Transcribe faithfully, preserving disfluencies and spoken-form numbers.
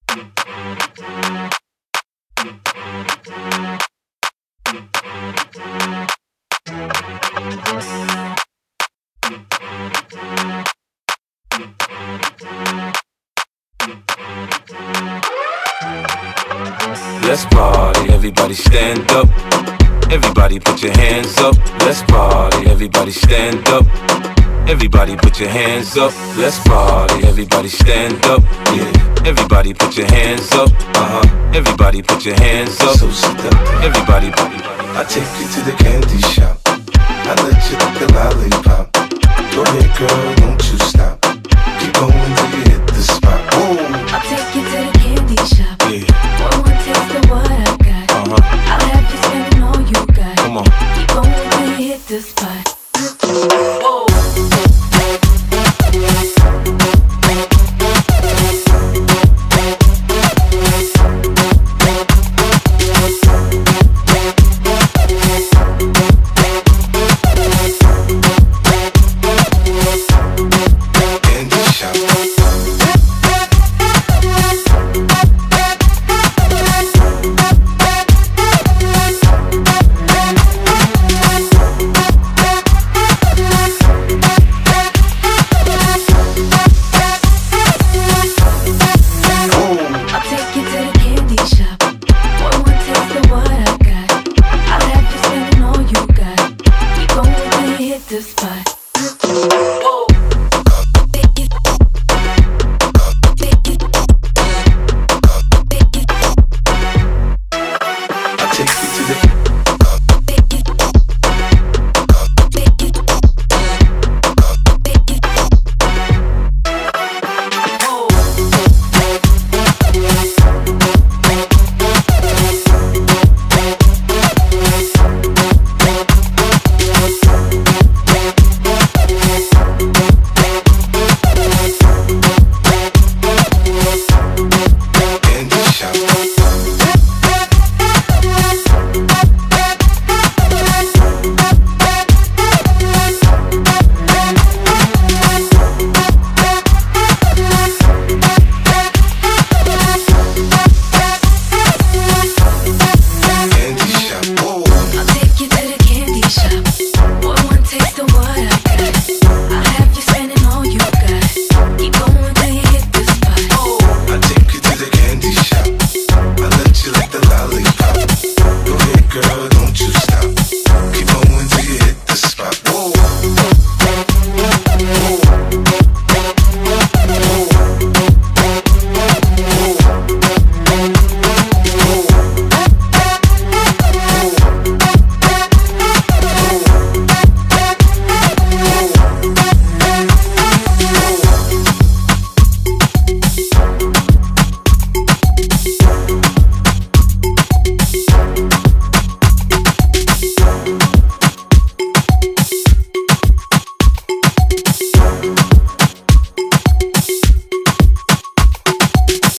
Let's party, everybody stand up. Everybody put your hands up. Let's party, everybody stand up. Everybody put your hands up. Let's party, everybody stand up. Yeah, everybody put your hands up. Uh-huh, everybody put your hands up. So seductive. Everybody, I take you to the candy shop. I let you lick the lollipop. Go ahead, girl, don't